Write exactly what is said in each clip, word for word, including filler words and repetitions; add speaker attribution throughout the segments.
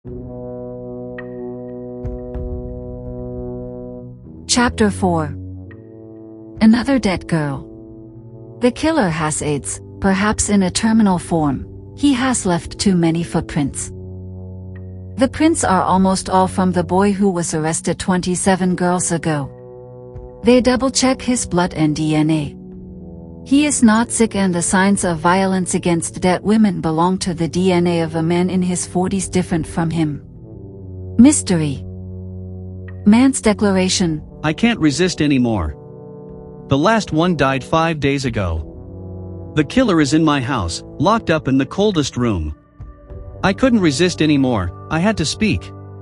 Speaker 1: Chapter four. Another dead girl. The killer has AIDS, perhaps in a terminal form. He has left too many footprints. The prints are almost all from the boy who was arrested twenty-seven girls ago. They double-check his blood and D N A. He is not sick, and the signs of violence against dead women belong to the D N A of a man in his forties, different from him. Mystery. Man's declaration:
Speaker 2: I can't resist anymore. The last one died five days ago. The killer is in my house, locked up in the coldest room. I couldn't resist anymore, I had to speak.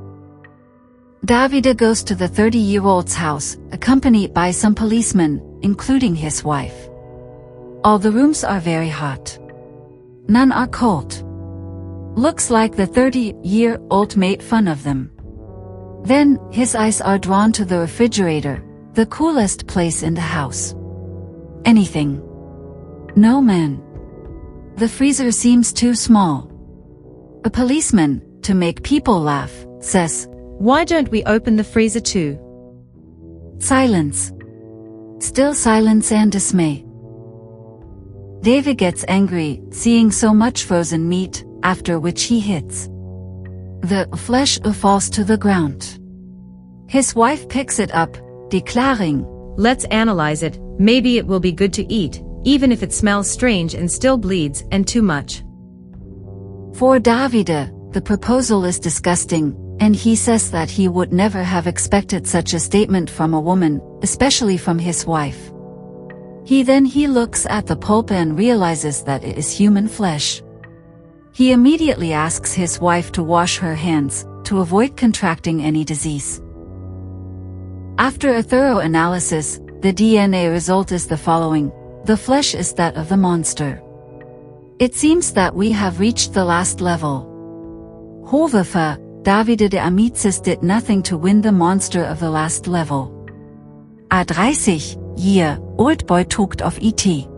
Speaker 1: Davide goes to the thirty-year-old's house, accompanied by some policemen, including his wife. All the rooms are very hot. None are cold. Looks like the thirty-year-old made fun of them. Then, his eyes are drawn to the refrigerator, the coolest place in the house. Anything. No man. The freezer seems too small. A policeman, to make people laugh, says,
Speaker 3: "Why don't we open the freezer too?"
Speaker 1: Silence. Still silence and dismay. David gets angry, seeing so much frozen meat, after which he hits. The flesh falls to the ground. His wife picks it up, declaring,
Speaker 3: "Let's analyze it, maybe it will be good to eat, even if it smells strange and still bleeds, and too much."
Speaker 1: For Davide, the proposal is disgusting, and he says that he would never have expected such a statement from a woman, especially from his wife. He then he looks at the pulp and realizes that it is human flesh. He immediately asks his wife to wash her hands, to avoid contracting any disease. After a thorough analysis, the D N A result is the following: the flesh is that of the monster. It seems that we have reached the last level. However, Davide de Amicis did nothing to win the monster of the last level. A thirty-year-old boy talked of E T